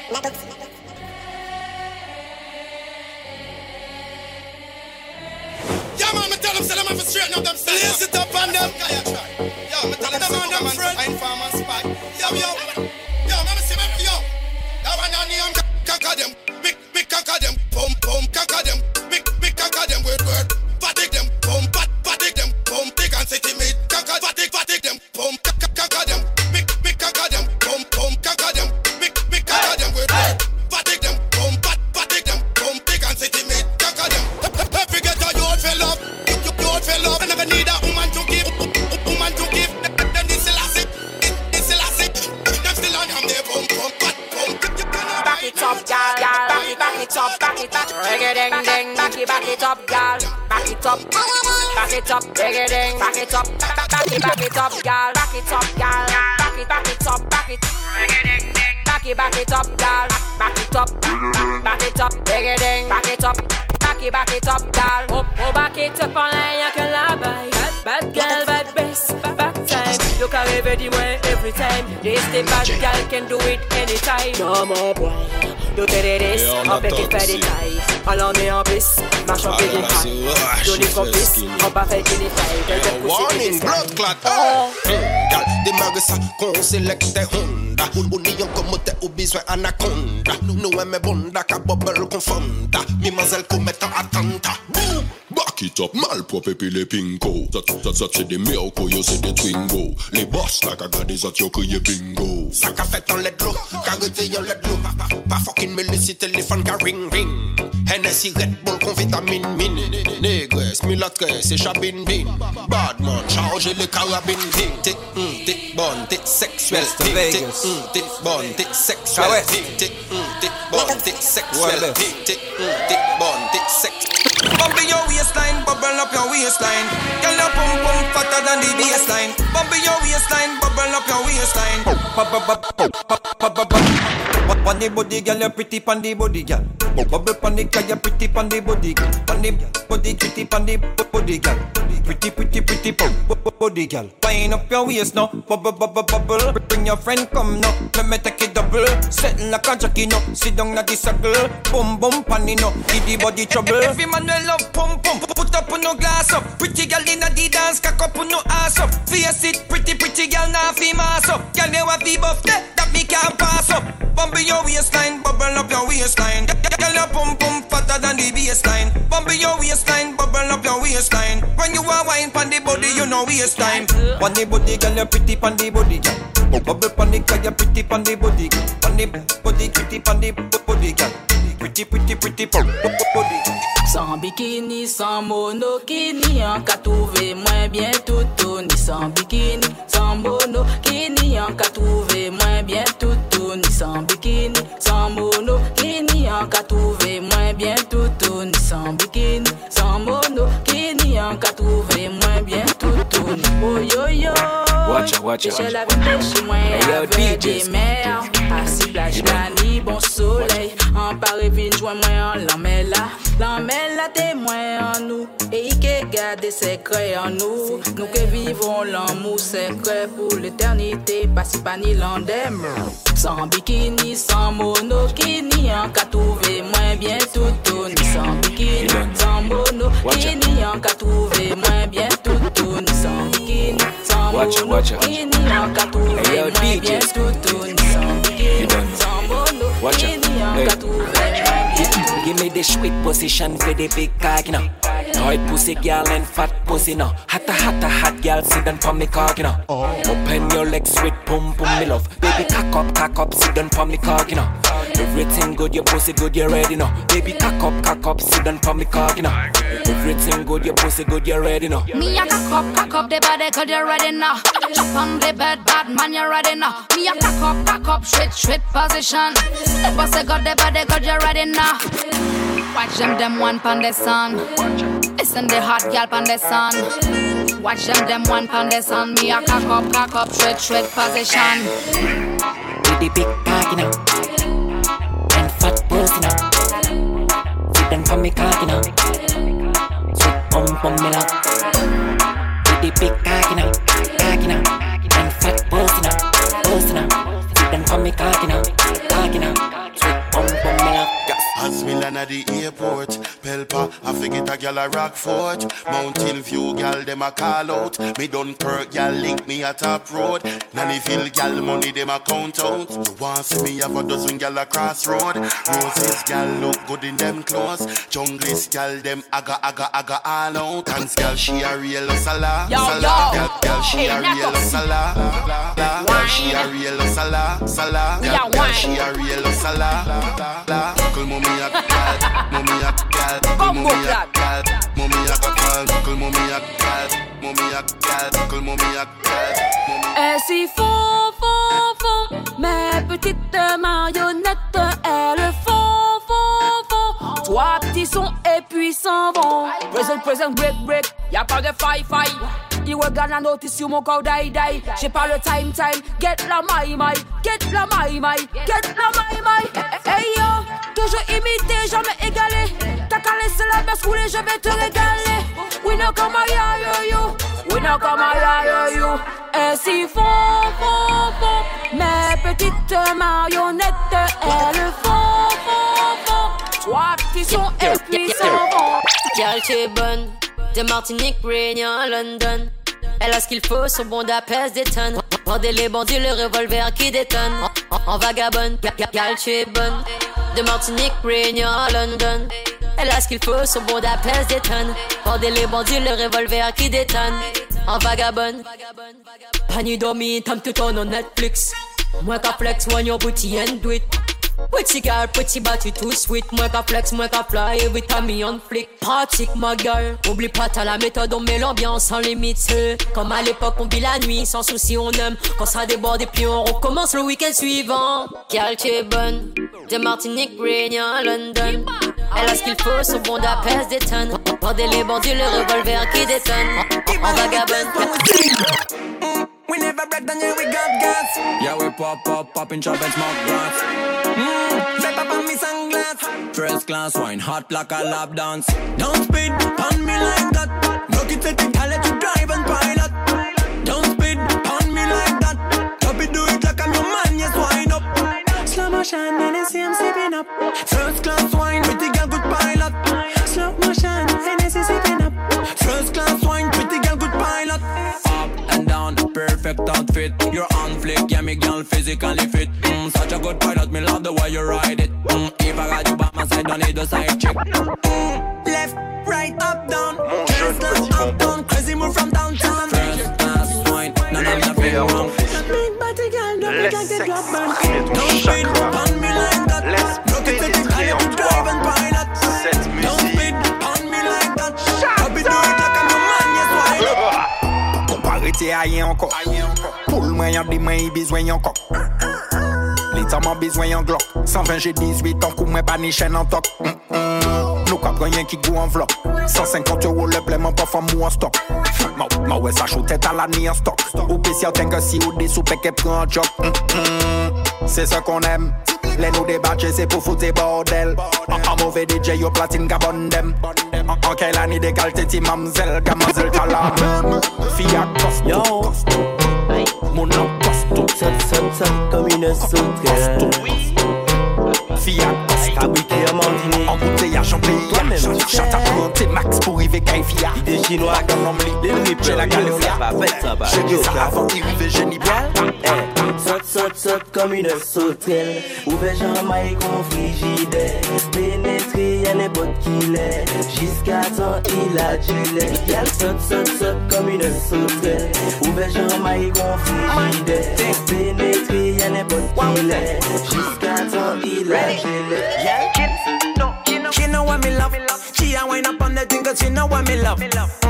Yeah, man, me tell them, say them have to straighten up themselves. Lace it up on them. Yo, me tell them, say them friend. I'm farmer spy. Yo, man, see me, yo. That one on the conquer them. Big conquer them. Boom, conquer them. Big conquer them. Word. Fatigue them. Boom, fatigue them. Boom, big and city mate. Conquer, fatigue them. Boom, conquer them. Big conquer them. Boom, conquer them. Big conquer them. Word. Fatigue them. Boom, fatigue them. Boom, big and city mate. Conquer them. Every ghetto you all fell off. You all fell off. I never need a woman to give. Then this elastic. Them still on them. They boom. Back it up, gal. Back it up. Reggae-ding-ding. Back it up, gal. Back it up. Reggae-ding. Back it up, gal. Back it up, gal. Back it. Reggae-ding-ding. Back it up, gal. Back it up. Reggae-ding. Back it up, gal. Oh, back it up en l'air que la baille. Bad girl, bad bass, bad time. You can rêver du moins every time. This the bad girl can do it anytime. No more boy. You did this, on fait qu'il fait des tailles. Alors on est en bis, marche en pied d'une taille. Jolie complice, on va faire qu'il est taille. Warning, blood clot. Gal, démarre ça, qu'on sélecte Honda. Ou n'ayons comme t'es au besoin anaconda. Nous aimons bonda, qu'à bubble confonda. Mimazelle commettant attentat. Back it up, malpropre et puis les pinko. Ça c'est des miracles, yo c'est des twingo. Les boss là qu'a gardé ça t'yo crié bingo. Ça qu'a fait en let l'eau, qu'a réveillé en let l'eau. Pas fucking Melissa téléphone qu'a ring. Hennessy Red Bull con vitamine mine. Négresse, milatresse et chabine bin. Badman, chargez les carabines. T'es bonne, t'es sexuelle. T'es bonne, t'es sexuelle. T'es bonne, t'es sexuelle. T'es bonne, t'es sexuelle. Bump your waistline, bubble up your waistline. Girl, your pum pum fatter than the baseline. Bump your waistline, bubble up your waistline. Pon the body, girl, you pretty pon the body, girl. Bubble pon the girl, you pretty pon the body, girl. Pon the body, pretty pon the body, girl. Pretty body, girl. Wind up your waist now, bubble. Bring your friend, come now. Let me take it double. Settle like a jockey now. Sit down at the circle. Boom pon it now. Give the body trouble. Every man will love pum. Put up on no glass up. Pretty girl in the dance, cock up on no ass up. Face it, pretty girl now fi mass up. Girl you have the buff that me can't pass up. Bump your waistline, bubble up your waistline. Girl your pum fatter than the baseline. Bump your waistline, bubble up your waistline. When you are wine pon the body, you know waste time. Pon the body, girl you pretty pon the body, girl. Bubble pon the girl you pretty pon the body, girl. Pon the body, pretty pon the body, girl. Pretty body. Sans bikini, sans monokini, en cas trouvé moins bien tout ni sans bikini, sans monokini, en cas trouvé moins bien tout ni sans bikini, sans monokini, en cas trouvé moins bien tout ni sans bikini, sans monokini, en cas trouvé moins bien tout ni. Oh yo yo, watch out. Je la vie chez moi avec des mers, assis plage la nuit, bon soleil, en Paris vine joint moi en l'emmène témoin en nous, et qui garde secret en nous. Nous que vivons l'amour secret pour l'éternité, pas si pas ni l'endem. Sans bikini, sans monokini, en cas trouvé moins bien tout ni sans bikini, sans monokini, en cas trouvé moins bien tout ni sans bikini, sans monokini, en cas trouvé moins bien tout ni sans bikini, sans monokini, en cas trouvé moins bien. Give me the sweet position for the big cock, you know. Hard pussy girl and fat pussy, no. Hot girl, sit down for me cock, you know. Open your legs, sweet pum, me love. Baby, cock up, sit down for me cock, you know. Everything good, your pussy good, you ready, no. Baby, cock up, sit down for me cock, you know. Everything good, your pussy good, you ready, no. Me a cock up, the body good, you ready now. Jump on the bed, bad man, you ready now. Me a cock up, straight position. The pussy good, the body good, you ready now. Watch them one pon the sun. Listen the hot girl pon the sun. Watch them one pon the sun. Me a cock up, straight position. With the big cock, you know. And fat pussy, you know. Sit down for me cock, you know. Sweet pum, me love. With the big cock, you know. And fat pussy, you know. Sit down for me cock, you know. man at the airport. Pelpa, I forget a gal a Rockfort. Mountain View gal, them a call out. Me Dunkirk gal link me at Top Road. Nannyville gal money them a count out. You want see me have a dozen gal a Crossroad. Roses gal look good in them clothes. Junglist gal them aga all out. Dance gal she a real sala. Gal she a real sala. Gal she a real sala. Gal she a real sala. Call mommy a gal, mommy a gal, mommy a gal, mommy a gal, call mommy a gal, mommy a gal, call mommy a gal. Et si font, mes petites marionnettes, elles font. Trois petits sons et puis s'en vont. Present, break, y'a pas de faille. You regarde la notice sur mon corps, die. J'ai pas le time, get la my. Hey yo, toujours imité, jamais égalé. T'as qu'à laisser la baisse rouler, je vais te régaler. We know come on, yo. Et si font, mes petites marionnettes, elles font. Trois petits sons et puis s'en vont. Gal t'es bonne, de Martinique, Réunion, London. Elle a ce qu'il faut, son bon pèse des tonnes. Vendez les bandits, le revolver qui détonne. En vagabonde, gal t'es bonne, de Martinique, Réunion, London. Elle a ce qu'il faut, son bon pèse des tonnes. Vendez les bandits, le revolver qui détonne. En vagabonde. Pani dormi, time to turn on Netflix. Moi qu'à flex, when your booty and do it. Pretty girl, pretty body too sweet. Moi qu'à flex, moi qu'à fly, every time me on flick. Pratique ma gueule, oublie pas t'as la méthode, on met l'ambiance sans limite. Comme à l'époque on vit la nuit, sans souci on aime. Quand ça déborde et puis on recommence le week-end suivant. Girl tu es bonne, de Martinique, Réunion, London. Elle a ce qu'il faut, son bon pèse des tonnes. Vendez les bandits, le revolver qui détonne. En vagabonde. We never break down, yeah, we got gas. Yeah, we pop in chop and smoke grass. Step up on me sunglass. First class wine, hot like a lap dance. Don't speed on me like that. Look it at the gal let you drive and pilot. Don't speed on me like that. Copy do it like I'm your man, yes, wind up. Slow motion, NSC, I'm sipping up. First class wine, pretty girl, good pilot. Slow motion, NSC, sipping up. First class wine, pretty girl, good pilot. Up and down, perfect outfit. You're on flick, yeah, me girl physically fit. Such a good pilot, me love the way you ride it. If I got you by my side, don't need a side chick. Left, right, up, down. First class, up, down. Crazy move from downtown. First class wine, none of nothing wrong. Big body girl, don't look like the drop man. Don't speed on me like that. Look at the car, you drive and pilot. Don't speed on me like that. Copy do it like I'm your man, yes, why? Comparé à rien encore. Pour le moyen des mains, il besoin encore. L'état m'a besoin en glock. 120 j'ai 18 ans, coup moi pas ni chaîne en toc. Nous cap rien qui goût en vlog. 150 € le paiement pas femme ou en stock. Ma ouais ça chaud tête à la ni en stock. Ou spécial t'inquiète si ou des soupes qui prend un job. C'est ça qu'on aime. Les nous débattre c'est pour foutre des bordel. En mauvais DJ yo platine gabon dem. En quelle année d'égalité ti mamzelle gamazelle t'as la même. Fille à costaud. Mon nom costaud. Ça comme une sauterelle. Fille à costaud. Fabriqué à Mandini. Embouteillage en pays. Toi-même. Chante à compter max pour y veiller fille. Idée chinois comme l'ombli. J'ai la galère. J'ai dit ça avant d'y arriver génie bien. Saute comme une sauterelle. Ouvert Jean-Maï qu'on frigidaire. Pénétré y'a n'importe qui l'est. Jusqu'à temps il a du lait. Y'a saute comme une sauterelle. Ouvert Jean-Maï qu'on frigidaire. Pénétré y'a n'importe qui l'est. Jusqu'à temps il a du lait. She know what me love. She a wind up on the thing 'cause she know what me love.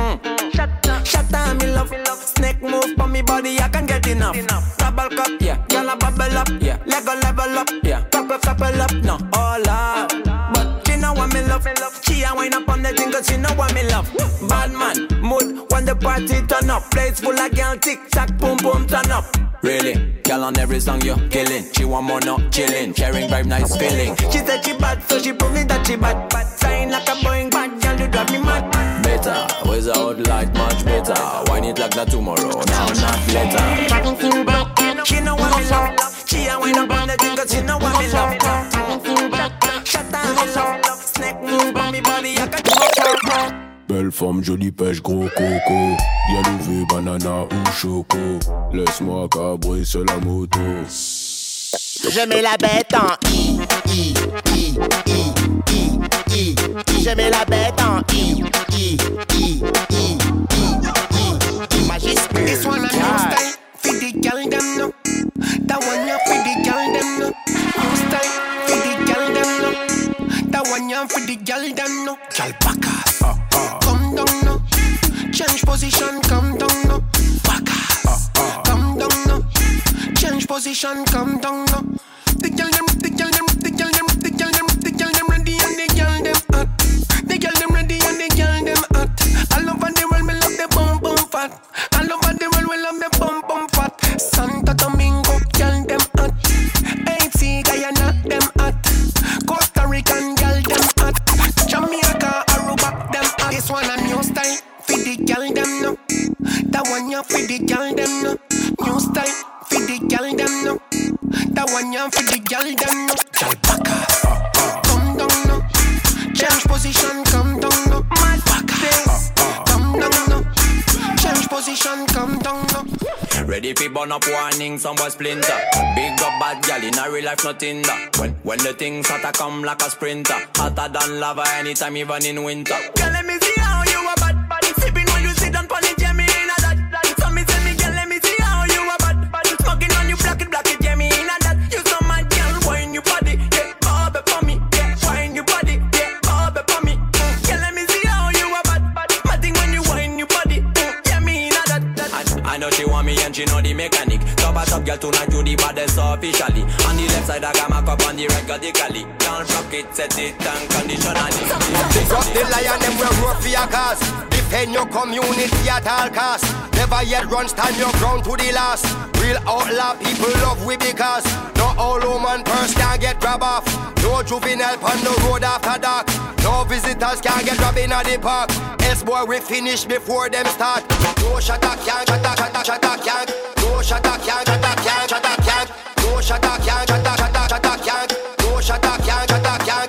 Shut down me love. Snake move on me body, I can get enough. Double cup, yeah. Girl a bubble up, yeah. Lego level up, yeah. Couple up, no all up. But she know what me love. She a wind up on the thing 'cause she know what me love. Bad man, mood when the party turn up. Place full of girl, tick tock, boom boom turn up. Really, girl on every song you're killing. She want more, not chilling. Sharing vibe, nice feeling. She said she bad, so she prove me that she bad. Sign like a Boeing bad, girl you drive me mad. Better, without light, much better. Wine it like that tomorrow, now not later. She know what me love. She a wind up on the thing 'cause she know what me love. Shut down me love. femme, jolie pêche, gros coco. Bien levé, banana ou choco. Laisse-moi cabrer sur la moto. Je mets la bête en I. Je mets la bête en I. Majuscule. This one a new style for the girl them know. That one ya for the girl them know. New style for the girl them know. That one ya for the girl them know. Girl back ass, come down now. Change position, come down now. Back ass, come down now. Change position, come down now. The girl them ready and the girl them hot. The girl them ready and the girl them hot. All over the world, me love the bum bum fat. All over the world, we love the bum bum fat. Santo Domingo, girl them hot. Haiti, Guyana, them hot. Costa Rican, girl them hot. Jamaica, Aruba, them hot. This one a new style for the girl them know. That one ya for the girl them know. New style for the girl them know. That one ya for the girl them know. Girl back ass, come down now. Change position, come down now. Mad back ass, come down now. Change position, come down now. Ready fi burn up warning, some boy splinter. Big up bad gal in a real life, nothing that. When the things hotter come like a sprinter. Hotter than lava anytime, even in winter. Girl, let me see how you a bad. Sipping when you sit down pon it, yeah me in a that. So me tell me, girl, let me see how you a bad. Smoking on you, black it, yeah me in a that. You so mad, girl, wine your body, yeah, bob it for me, yeah, wine your body, yeah, bob it for me. Girl, let me see how you a bad. Matting when you wine your body, yeah me in a that. I know she want me and she know the mechanic. Top girl tonight you the baddest officially. On the left side I got my cup, on the right got the cali. Can't rock it, set it and conditionally. Pick up the lion them will roar for your cause. Defend your community at all costs. Never yet run, stand your ground to the last. Real outlaw people love we because no all woman purse can get grab off. No juvenile on the road after dark. No visitors can get robbed in the park. Else boy we finish before them start. No shatter can't, shatter can't. No shatter can't, shatter can't. No shatter can't, shatter can't. No shatter can't, shatter can't.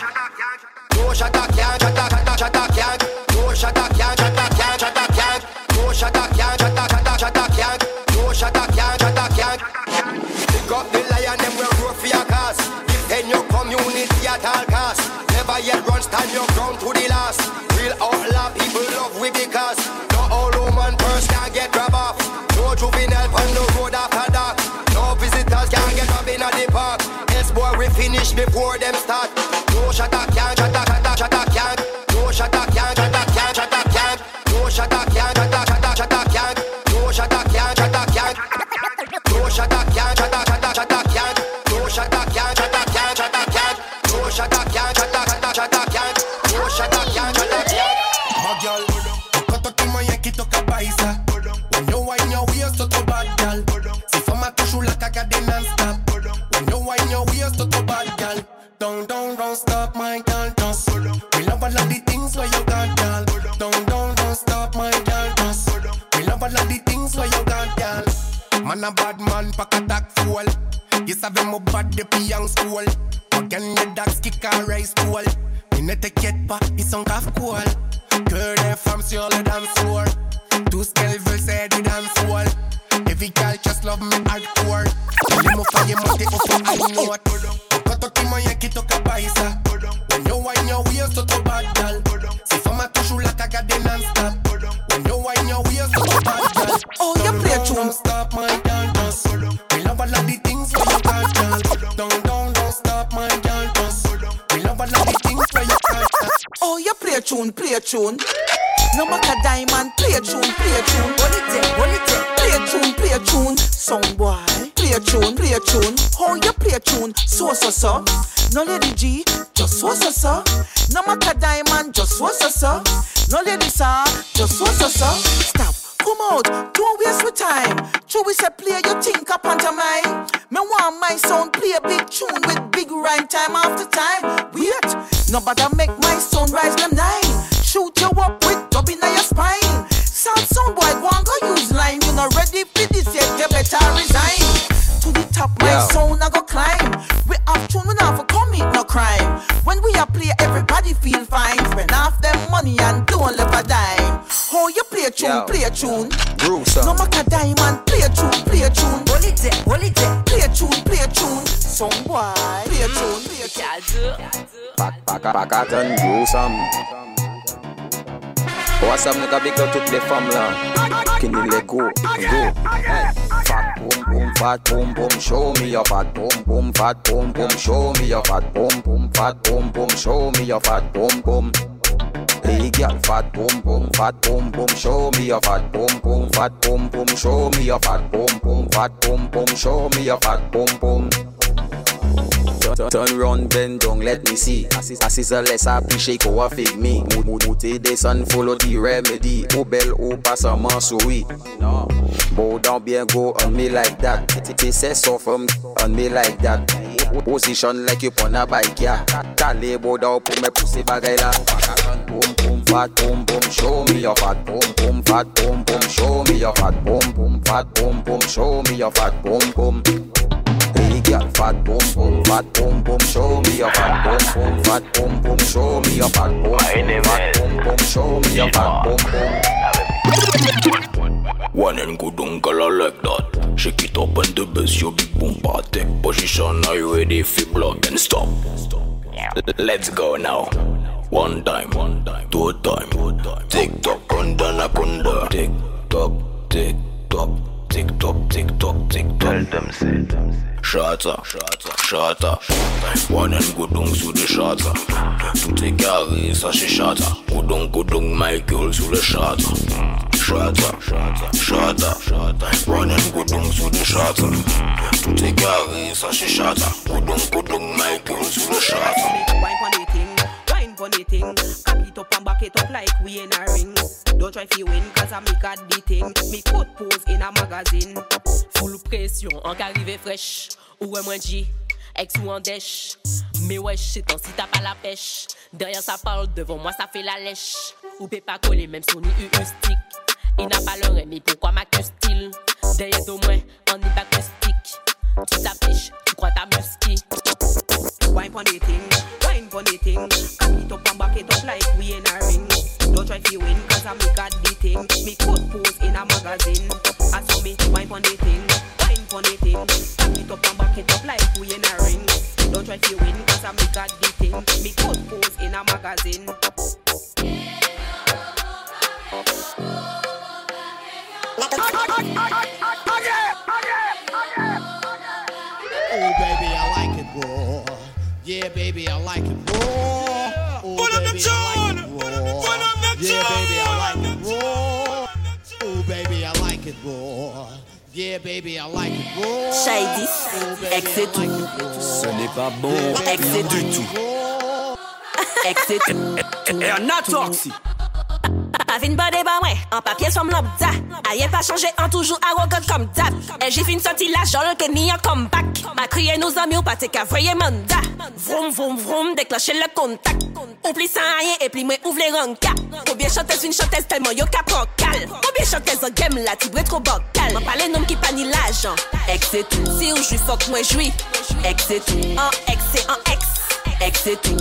No shatter can't, shatter can't. No shatter can't, shatter can't. No shatter can't, shatter can't. No shatter can't, shatter can't. Pick up the lion, them will roar for your cause. Defend your community at all costs. Never yet run, stand your ground to the last. Real outlaw people love we because no all woman purse can get grab off. No juvenile on the road after dark. No visitors can get robbed in the park. Else boy we finish before them start. No shatter can't, shatter can't. No shatter can't, shatter can't. No shatter can't, shatter can't. No shatter can't, shatter can't. No shatter can't, shatter can't. No shatter can't, shatter can't. No shatter can't, shatter can't. No shatter can't, shatter can't. Oh girl, cut out my Yankee to Kabaisa. When you wine your waist to bad girl. Si fama tu chula cagade non-stop. When you wine your waist to bad girl. Don't stop my girl, just. We love all of the things where you got, girl. Don't stop my girl, just. We love all of the things where you got, girl. Man a bad man, pack attack full. You savais mon bad depuis young school. Again les dags qui caressent school. Ils ne t'inquiètent pas, ils sont grave cool. Que les femmes sur le dance floor. Tout ce qu'elles veulent c'est du dance hall. Every girl just love me hardcore. Les mots faillent monter au fond I know it. Quand on t'y moyen qui toque à Baïsa. When you wine your waist to the bad girl. Si femme a toujours la cagade non-stop. When you wine your waist to the bad girl. Oh, you play tune. Don't stop my girl, just. We love all of the things where you got, girl. Don't stop my girl, just. We love all of the things where you got, girl. Oh, you play tune. No matter diamond, play tune. Hold it, play tune. Song boy, play tune. How you play tune? So. No lady G, just so. No matter diamond, just so. No lady sir, just so. Stop. Come out, don't waste your time. True we say play your think up onto mine. Me want my sound play a big tune with big rhyme time after time. Wait, nobody make my sound rise them 9. Shoot you up with dub in your spine. Sound boy, go and go use line. You not ready for this yet, you better resign. To the top, my sound I go climb. We have tune, we not for commit no crime. When we are play, everybody feel fine. Spend half them money and don't left a dime. play a tune, Yo. play a tune. Gruesome. No matter diamond, play a tune, play a tune. Hold it there, play a tune, play a tune. Some boy, play a tune, play a tune. Back at and gruesome. What's up, nigga? Big up toutes les femmes là. Qui nous les go. Fat boom boom, fat boom boom, show me your fat boom boom, fat boom boom, show me your fat boom boom, fat boom boom, show me your fat boom boom. Hey girl, fat boom boom, show me your fat boom boom, fat boom boom, show me your fat boom boom, fat boom boom, show me your fat boom boom. Turn round, bend down, let me see. Assise a less happy, shake or fake me. Mouté des sun, follow the remedy. Ou belle ou pas seulement souris. Bow down, bien go on me like that. Say so from on me like that. Position like you on a bike, yeah. Calé bow down pour me pousser bagay la. Boom boom, fat boom boom, show me your fat boom boom, fat boom boom, show me your fat boom boom, fat boom boom, show me your fat boom boom. Hey girl, fat boom boom, show me your fat boom boom, fat boom boom, show me your fat boom boom, fat boom boom, show me your fat boom boom. One and good uncle I like that. Shake it up and the best your big boom take position. Are you ready for block and stop? Let's go now. One time, two time. Tick tock, kunda. Tick tock, tick tock. Tick tock, tick tock, tick tock. Tell them say. Shatter. One and good on sous le shatter. Tout est carré, ça c'est shatter. Good on Michael sous le shatter. Shatter. One and good on sous le shatter. Tout est carré, ça c'est shatter. Good on Michael sous le shatter. Wine pon the thing, cock it up and back it up like we in a ring. Don't try fi win, cause I make a the thing. Me coat pose in a magazine. Full pression, en qu'arrivé fraîche. Ou moins G, ex ou en dèche. Mais wesh, c'est ton si t'as pas la pêche. Derrière ça parle, devant moi ça fait la lèche. Ou peut pas coller, même son stick. Il n'a pas l'oreille, mais pourquoi m'accuse-t-il? Derrière de moi, on est acoustique. Tu t'affiches, tu crois ta musky. Wine pon the thing, cock it up and back it up like we in a ring. Don't try fi win, cause I make a the thing. Me coat pose in a magazine. I saw me wine pon the thing, cock it up and back it up like we in a ring. Don't try fi win, cause I make a the thing. Me coat pose in a magazine. Oh baby, I like it raw. Yeah, baby, I like it raw. Oh baby, I like it raw. Yeah, baby, I like it raw. Oh baby, I like it raw. Yeah, baby, I like it raw. Shady, ex c'est tout. Ce n'est pas bon, ex c'est du tout. Ex c'est tout. Et on a toxi. Pas une body bah ouais, en papier somme lambda. Aïe pas changé, en toujours arrogant comme d'hab. Et j'ai fin sorti la jolle que ni un comeback. Ma crié nos amis ou pas t'es qu'à voyer mandat. Vroom vroom vroom, déclencher le contact. Oublie ça rien et puis moi ouvre les rankas. Combien chanteuse une chanteuse tellement yo cap cal. Combien chanteuse en game là, tu trop bocal. M'en parle nom qui pas ni l'argent. Ex c'est tout. Si ou j'suis fuck moi j'suis. Ex c'est tout. En ex c'est en ex. Ex c'est tout.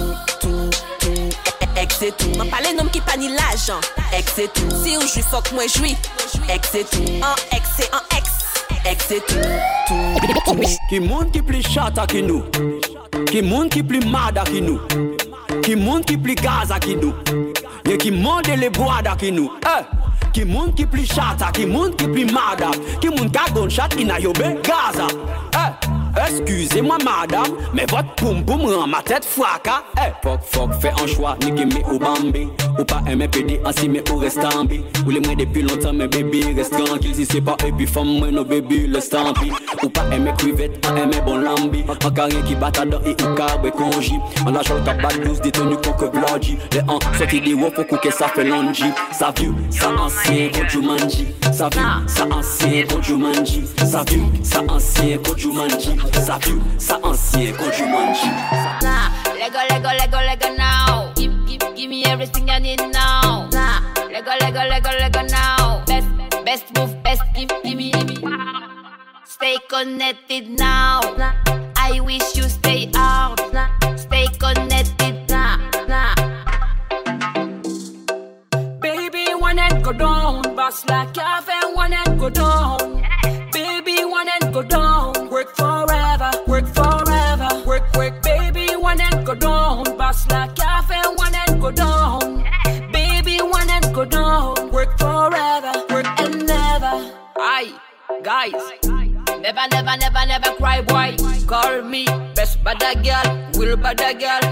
Ex c'est tout. M'en parle nom qui pas ni l'argent. Ex c'est tout. Si ou j'suis fuck moi j'suis. Ex c'est tout. En ex c'est en ex. Ex c'est tout. Qui monde qui plus chata que nous. Qui monde qui plus mada que nous. Qui monde qui plus gaza que nous. Et qui monde les bois que nous. Qui monde qui plus chata. Qui monde qui plus mada. Qui monde qui a gunshot in a yobe gaza. Excusez-moi madame, mais votre poum poum rend ma tête fracas. Fuck, fais un choix, ni que ou bambi. Ou pas aimer pédé, ainsi mais ou reste en bi. Ou les moins depuis longtemps, mais bébé reste tranquille. Si c'est pas et puis femme, moi nos bébés le stampi. Ou pas aimer crevette, pas aimer bon lambi. En carré qui bat à dents et ou carré congé. En la chole tabac douce, détenu qu'on que blodgy. Les ans, sorti des wop, faut que ça fait longi. Ça vieux, ça ancien, quand tu manges. Ça vieux, ça ancien, quand tu manges. Ça vieux, ça ancien, quand tu manges. Ça vieux, ça ancien, quand tu manges. Nah, Lego now. Give me everything I need now. Nah, Lego now. Best move, best give me. Stay connected now. I wish you stay out. Stay connected now. Baby, one head go down. Boss like cafe, one and go down. Baby, one and go down. Work forever, work forever. Work, baby, one and go down. Boss like cafe, one and go down. Baby, one and go down. Work forever, work and never. Aye, guys, never cry, boy. Call me best bad girl, will bad girl.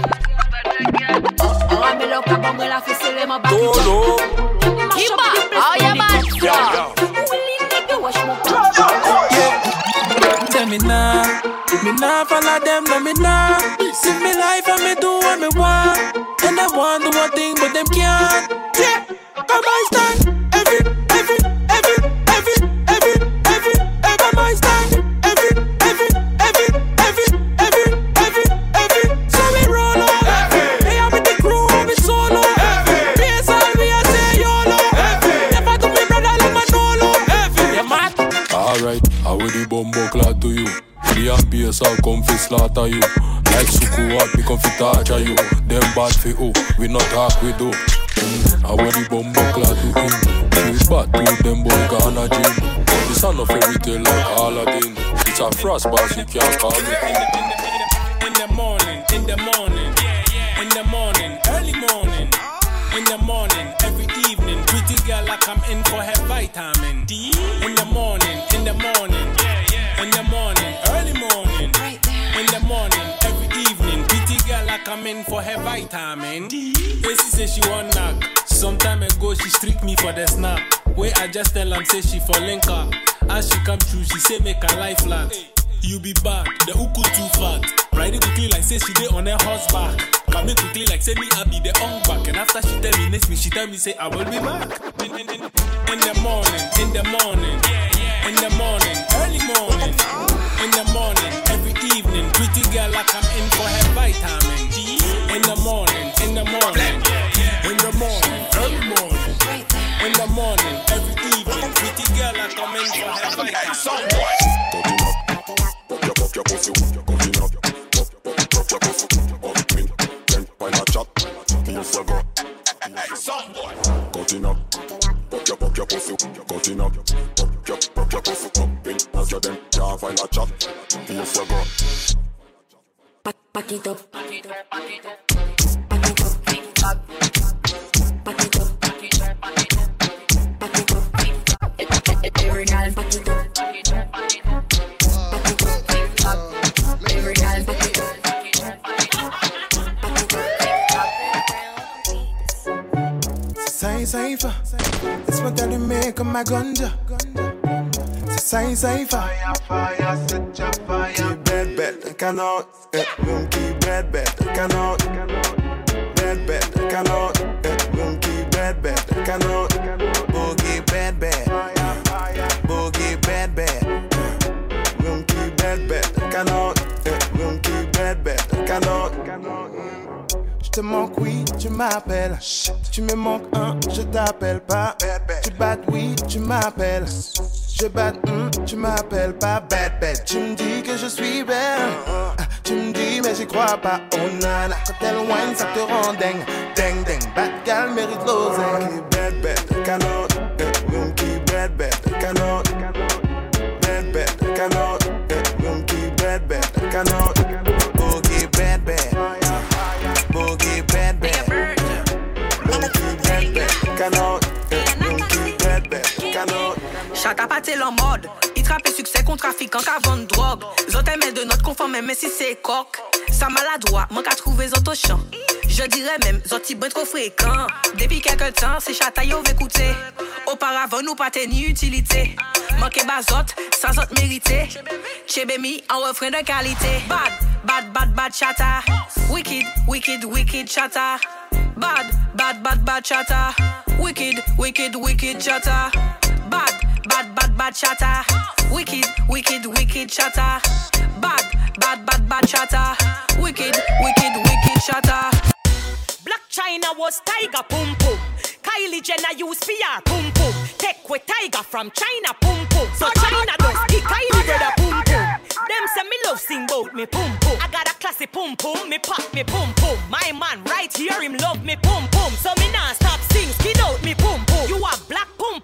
Me look up when I feel my back. How you man? Tell me nah follow them, no me nah. Live me life and me do what me want. And I want to do one thing, but them can't. Yeah, come on, stand. Every my stand. Every. So we roll up. Hey, I'm with the crew, I'm with solo. PSL, we are say YOLO. Never to me brother like Manolo. Yeah, man. Alright, I will the bumbo clad to you. The ambience I'll come fi slaughter you. Like Suku what me come fi torture you. Them bad fi who, we not talk we do. I will the bumbo clad to him. We bad to them boy gonna gym. This a no fairy tale like Aladdin. It's a frost boss, you can't call me. In the morning, early morning. In the morning, every evening. Pretty girl like I'm in for her vitamin D. In the morning, early morning. In the morning, every evening. Pretty girl like I'm in for her vitamin D. She say she want knock. Some time ago she streak me for the snap. Where I just tell am say she for link her. As she come through, she say make her life flat. You be bad, the uku too fat. Ride it quickly like say she dey on her horseback. Come in quickly like say me I be the on back. And after she terminates me, she tell me say I will be back. In the morning, early morning. In the morning, every evening. Pretty girl like I'm in for her vitamin D. In the morning, early morning. In the morning, every evening. Pretty girl like I'm in for her vitamin D. Your pussy, cutting up. Pop your pussy, up me. Then why not chop? Feels so good. Cutting up. Pop your pussy, cutting up. Pop your pussy, up me. As you then can't find a chop. Feels so good. Back it up. Every girl back it up. Cypher, it's what I make on my ganja. It's a cypher. Fire, set your fire. Keep bad, I cannot. Keep bad, I cannot. Bad, I cannot. Keep bad, I cannot. Boogie bad. Boogie bad. Keep bad, I cannot. Keep bad, I cannot. Je te manque, oui, tu m'appelles. Tu me manques, je t'appelle pas. Tu battes, oui, tu m'appelles. Je batte, tu m'appelles pas. Bad. Tu me dis que je suis belle. Tu me dis, mais j'y crois pas. Oh nana, quand elle whine, ça te rend dingue. Ding. Bad gal mérite l'oseille. Bad, cannot. Keep bad, cannot. Bad, cannot. Keep bad, cannot. Boogie bad. Boogie bad. Chata pâté en mode. Il trappe succès contre trafiquant qu'à vendre drogue. Zot aimait de notre conforme, même si c'est coq. Ça maladroit, manque à trouver zot au champ. Je dirais même, zot y bon trop fréquent. Depuis quelque temps, c'est chata yo écouter. Auparavant, nous pas ni utilité. Manqué bazot, sans zot mérité. Chebemi, en refrain de qualité. Bad chata. Wicked chata. Bad chata. Wicked chata. Bad chata. Wicked chata. Bad chata. Wicked chata. Black China was Tiger Pum Pum. Kylie Jenner use PR Pum Pum. Take with Tiger from China Pum Pum. So China does kick Kylie brother Pum Pum. Them say me love sing bout me Pum Pum. I got a classy Pum Pum, me pop me Pum Pum. My man right here him love me Pum Pum. So me nah stop sing, skid out me Pum Pum. You have black Pum Pum and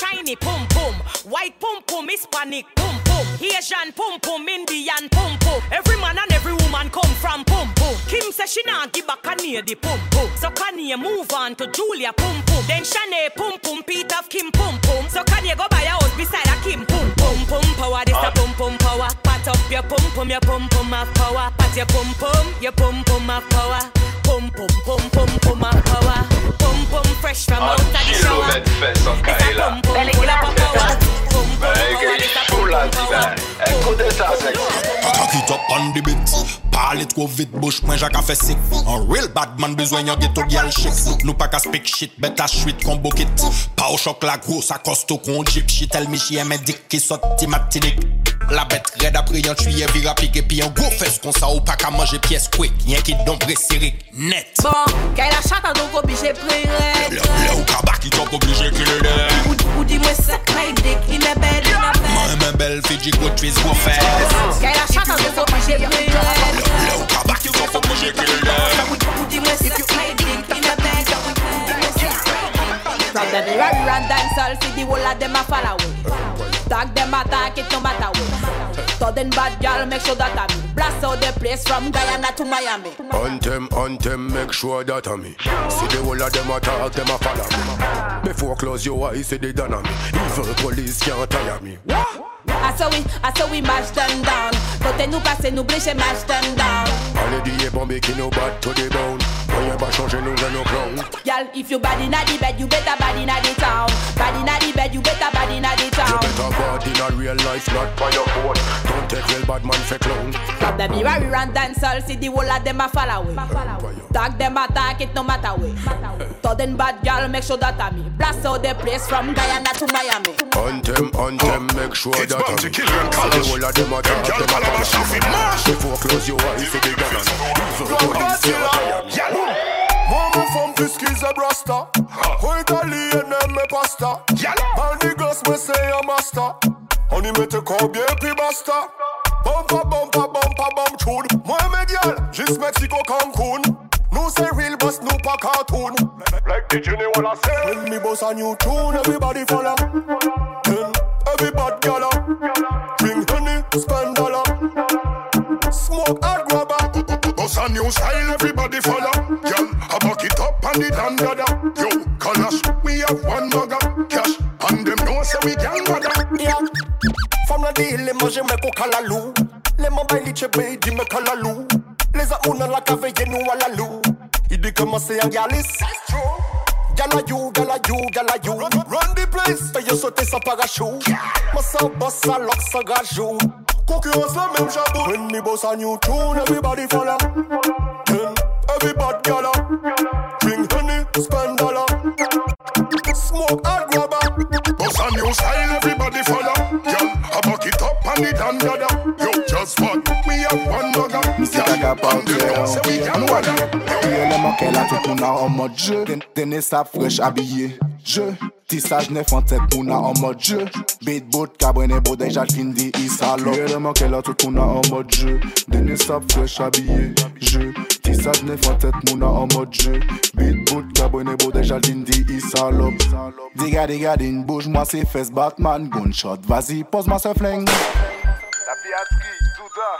Chinese pum pum. White pum pum, Hispanic pum pum. Asian pum pum, Indian pum pum. Every man and every woman come from pum pum. Kim says she nah give back Kanye the pum pum. So Kanye move on to Julia pum pum. Then Shanae pum pum, Peter of Kim pum pum. So Kanye go buy a house beside a Kim pum pum pum power. This a pum pum power. Pat up your pum pum have power. Pat your pum pum have power. Pum pum pum pum pum have power. Pum pum fresh from out of the shower. It's a pum pum full of power. Pum pum power. This a pum pum power. Kaka kit up on the beat. Parle trop vite, bouche moins Jacques a fait sick. Un real bad man besoin yon ghetto girl chic. Nous pas qu'à speak shit, bet à chouette combo kit. Pas au choc la grosse, à costo qu'on jeep shit. Elle m'y un médic qui saute matinique. La bête raide après yon tuyé vira pique. Et puis un gros fesse qu'on ça ou pas qu'à manger pièce quick. Y'en qui d'ombre serré, net. Bon, qu'elle a chatte donc obligé prier. Le ou cabas qui t'ont obligé qu'il est là. Ou dis-moi ça, my dick, il est belle, moi ma belle fille go twist go fast. Qu'elle a chatte donc obligé prier. Le ou cabas qui t'ont obligé qu'il est là. Ou dis-moi ça, my dick, il est belle. From the very run dancehall, see the whole of them a follow away. Tag them attack it no matter what. Sudden bad girl make sure that I me. Blast out the place from Guyana to Miami. On them, make sure that I me. See the whole of them attack, them a follow me. Before close your eyes, see they done on me. Evil police can't tire me. I saw we mash them down. Côté nous passer, nous blécher, mash them down. Allez dis bon qui nous bat to the bone. Rien pas changer nous dans nos clowns. Y'all, if you bad inna the bed, you better bad inna the town. Bad inna the bed, you better bad inna the town. You better bad in a real life, not by your phone. Don't take real bad man for clown. From the mirror we run dancehall, see the whole of them a follow away. Tag them attack it no matter way. Sudden bad girl make sure that I me. Blast out the place from Guyana to Miami. On them, make sure that I me. See the whole of them attack, them a follow me. Before close your eyes, see they done on me. Evil police can't tire me. Mama from Fiski's a brasta. Who Italian name me pasta. And the girls me say a master. Honey me te call bien basta. Bumpa bump tune. Moi me girl, just Mexico Cancun. No say real boss, no pa cartoon. Like the Jenny wanna say. When me boss a new tune, everybody follow. Then everybody gala. Drink honey, spend dollar. Smoke and grabber. Boss a new style, everybody follow. Girl, I back it up and it and dada. Yo, Kalash, we have one mugger. Cash, and them know say we can mother. Yeah. From la deal, les manger me ko kalalou. Les mobiles li chebe, di me kalalou. Les amouna la cave nous à la lou. Il dit comment c'est un galis. Gala you. Run the place. Paye sauter sans parachute. Massa boss à lock sans gajou. Concurrence la même jabou. When me boss a new tune, everybody follow. Then everybody gala. Drink honey, spend dollar. Smoke and grabber. Boss a new style, everybody follow. Girl, I back it up and it and dada. Yo, just what? We have one mugger. Mr. Gaga Panthère, élément qu'elle a tout qu'on a en mode jeu. Tenez ça fraîche habillé, jeu. Tissage neuf en tête qu'on a en mode jeu. Beat boat, cabernet beau déjà fin dit Isalo. Élément qu'elle a tout qu'on a en mode jeu. Tenez ça fraîche habillé, jeu. Tissage neuf en tête qu'on a en mode jeu. Beat boat, cabernet beau déjà fin dit Isalo. Diga, bouge-moi ses fesses Batman, gunshot. Vas-y, pose-moi ce flingue. La piasserie, tout ça.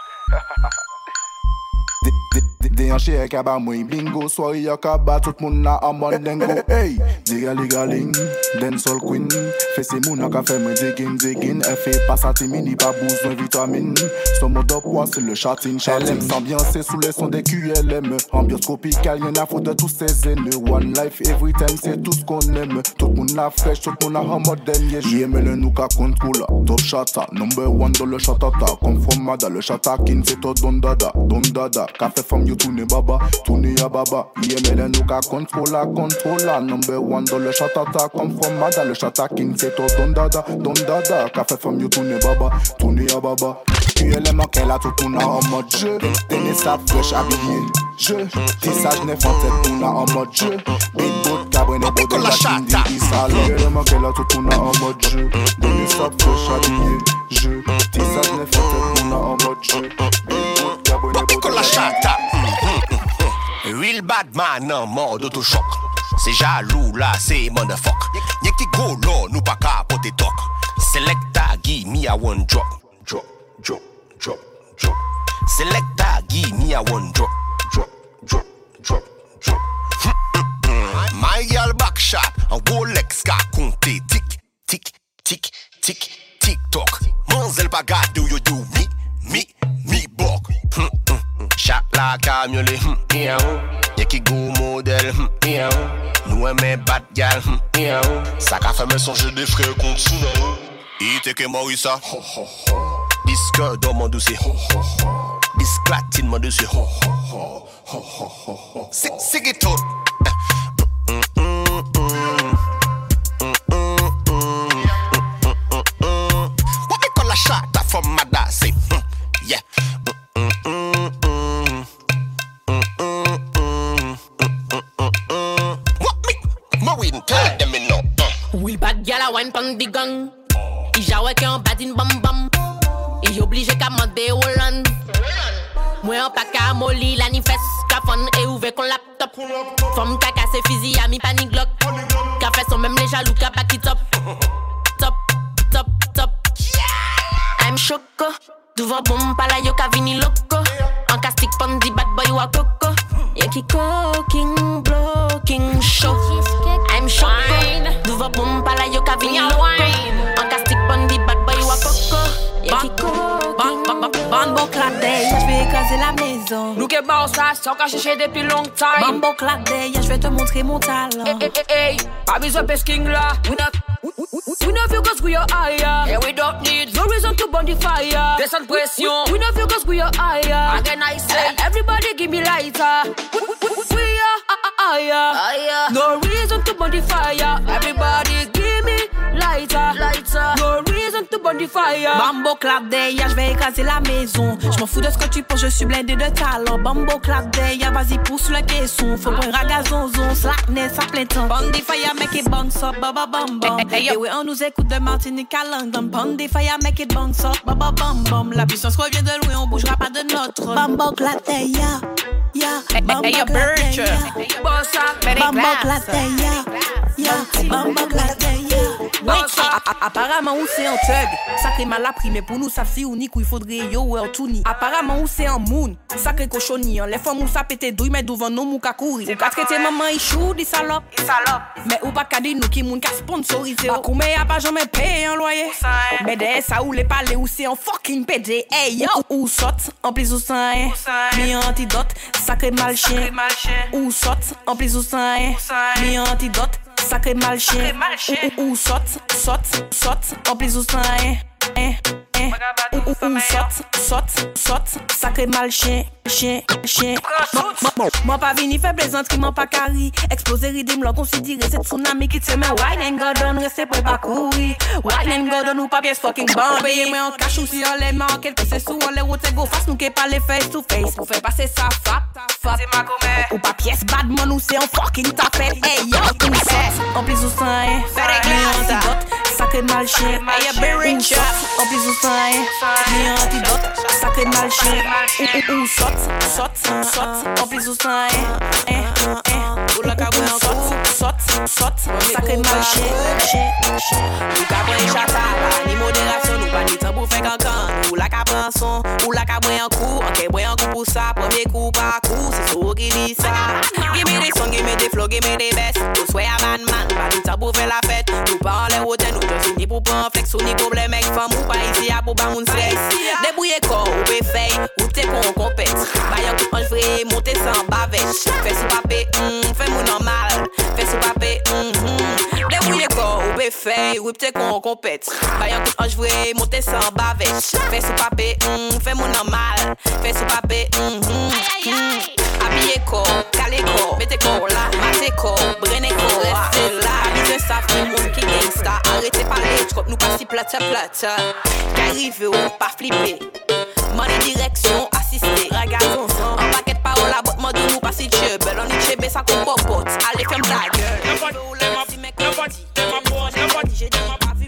Déhanché avec un bamoui, bingo, soirée à kaba, tout le monde a un bon dingo. Hey, digaling, dancehall queen. Fais ces mouns à café, me digging. Elle fait pas sa timide, pas besoin de vitamine. Son mode poids, c'est le châtine. Elle aime s'ambiancer sous les sons des QLM. Ambiance tropicale, y'en a faute de tous ces haineux. One life, every time, c'est tout ce qu'on aime. Tout le monde a fraîche, tout le monde a un mode dernier. J'aime le nous qu'à contrôle. Top chata, number one dans le chatata. Come from Mada, le chatakin, c'est tout don dada. Café from you, tourne baba, tourne ya baba. Y'aime nous qu'à contrôle. Number one dans le chatata. Come from Mada, le chatakin, c'est tout don dada. Café from you, tourne baba, tourne ya baba. QLM qu'elle a tout on a en mode jeu. Tenez ça fraîche habillé, jeu. Tissage neuf en tête on a en mode jeu. Big boat, cabernet beau de la chindi Isalo. QLM qu'elle a tout on a en mode jeu. Tenez ça fraîche habillé, jeu. Tissage neuf en tête on a en mode jeu. Big boat, cabernet beau de la chindi. Real bad man en mode autochoc. C'est jaloux là, c'est motherfuck. Y'a qui go là, nous pas capote. Selector, give me a one drop. Drop. Selector, give me a one drop. Drop. My girl back shot, and Rolex ka compter tick, toc. Manzel pa gade you do me bok. Chat la camiolet, y'a qui go modèle, nous aimons bad gal, ça qu'a fait me songer des frères contre Souna. Il que Morissa, disque dans mon dossier, disque latine mon dossier. C'est qui tout. What we call a shot from my dancing, yeah. Will bad gal a wine pan di gang. I jawe ke an badin bam bam. I oblige ka mande Holland. Moi en pa ka moli la ni fes. Ka fon e ouve kon laptop. Fom ka kase fizi a mi panic glock. Ka fait son même les jaloux ka back it up. Top. I'm choco. Devant bombe pa la yo ka vini loco. En castic pan di bad boy wa coco. Y'a qui cooking, blocking, show. I'm shine. Devant bombe pa la yo ka vini loco. En castic pan di bad boy wa coco. Y'a qui cooking. Bambo clade, je vais écraser la maison. Nous que bon ça, sans qu'à chercher depuis longtemps. Bambo clade, je vais te montrer mon talent. Hey, pas besoin de king là. We know you cause we are higher. And we don't need no reason to burn the fire. There's some pression. We know you cause we are higher. Again I say, everybody give me lighter. We are higher. No reason to burn the fire. Everybody give me lighter. No reason to burn the fire. Bambo clap derrière, je vais écraser la maison. Je m'en fous de ce que tu penses, je suis blindé de talent. Bambo clap derrière, vas-y pousse le caisson. Faut prendre ragazonzon, slackness à plein temps. Burn the fire, make it bounce up, baba bam bam. Et oui, on nous écoute de Martinique à London. Burn the fire, make it bounce up, baba bam bam. La puissance revient de loin, on bougera pas de notre. Bambo clap derrière, bambo clap derrière. Bambo clap derrière, bambo clap derrière. Apparemment où c'est en thug, sacré mal appris, mais pour nous ça c'est unique où il faudrait yo ou tout ni. Apparemment où c'est en moon, sacré cochonnier, les femmes où ça pète douille mais devant nous mou ka courir. Ou ka traiter maman ichou di salope, mais ou pas ka di nous qui moun ka sponsorisé. Pas comme y'a pas jamais payé un loyer. Mais de ça où les palais où c'est en fucking PD. Hey yo, ou saute en plus ou sans mi antidote, sacré mal chien. Ou saute en plus ou sans mi antidote. Sacré mal chien, ou saute, en plus ou sans saute, sacré mal chien. Moi pas vini fait plaisanterie, moi pas carré. Exploser ridim, l'on considérer c'est tsunami qui te met wine and go down, rester pour pas courir. Wine and go down, ou pas pièce fucking bomb. Payez-moi en cash ou si on les mains, quelque c'est sous, on les route go face, nous qui pas les face to face. Pour faire passer ça, fap, c'est ma commère. Ou pas pièce bad man, ou c'est en fucking tapette. Hey yo, tout saute, en plus ou sans antidote, sacré mal chien. En plus ou sans antidote, sacré mal chien. Ou saute, en plus ou sans ou la cabouille en saute, sacré mal chien. Ou cabouille chata, ni modération, nous pas ni temps pour faire cancan. Ou la cabouille en son, ou la cabouille en coup. Ok, boy en coup pour ça, premier coup par coup. C'est sûr qui dit ça. Give me des sons, give me des flows, give me des best. Tout soit à man, pas ni temps pour faire la fête. Nous pas en les hôtels, nous just ni pour prendre flex. Ou ni problème avec femme, ou pas ici à pour pas moun stress. Débrouillez corps, ou peut faire, ou t'es qu'on compète. Bayan tout en vrai, monter sans bavèche. Fais sous papé, fais mon normal. Fais sous papé, débrouillez corps, ou peut faire, ou t'es qu'on compète. Bayan tout en vrai, monter sans bavèche. Fais sous papé, fais mon normal. Fais sous papé, habillez corps, calez corps, mettez corps là, matez corps, brenez corps, restez là. Avisez ça, fait moun qui gangsta. Arrêtez parler, j'crois nous pas si plate. Qu'arrive ou pas flipper. Money direction, assisté, ragazon, en paquet de paroles à botte, mode nous pas si dieu. Belle on y chébé, ça qu'on popote. Allez, ferme ta gueule. J'ai dit, moi pas vu,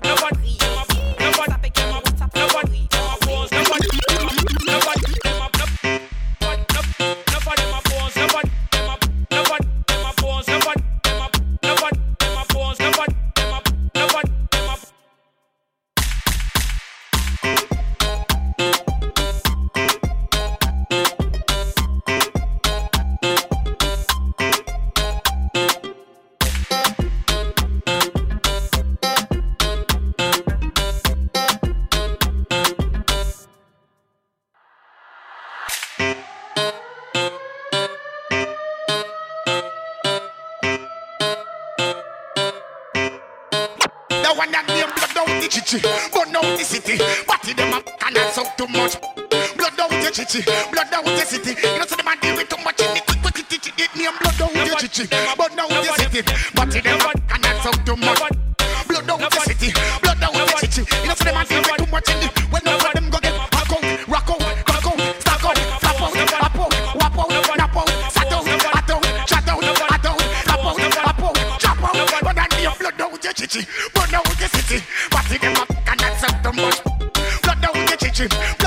chichi, but now the city. Party them up and that's up too much. Blood out the chichi, blood out the city. You know so the man deal with too much in the quick it name blood out the chichi, but now the city. Party them up and that's up too much. Blood out the city, blood out the chichi. You know so the man deal with too much in the. When none of them go get rock out, stack out, flap out, wap out, nap out, sat out, chat out, flap out, chop out. But then the blood out the chichi, but now the city. Party them up and that's up too much. Blood out the chichi.